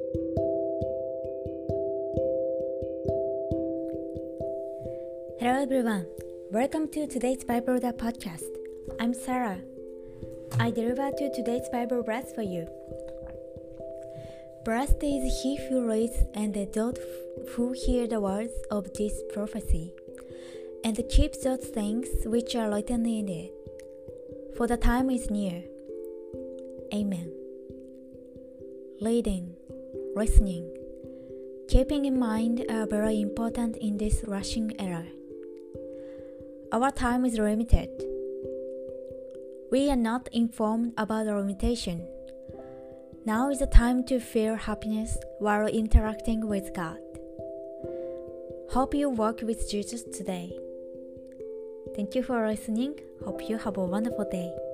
Hello everyone, welcome to today's Bible Reader podcast. I'm Sarah. I deliver to today's Bible verse for you. Blessed is he who reads and those who hear the words of this prophecy, and keeps those things which are written in it, for the time is near. Amen. Reading, listening, keeping in mind are very important in this rushing era. Our time is limited. We are not informed about the limitation. Now is the time to feel happiness while interacting with God. Hope you walk with Jesus today. Thank you for listening. Hope you have a wonderful day.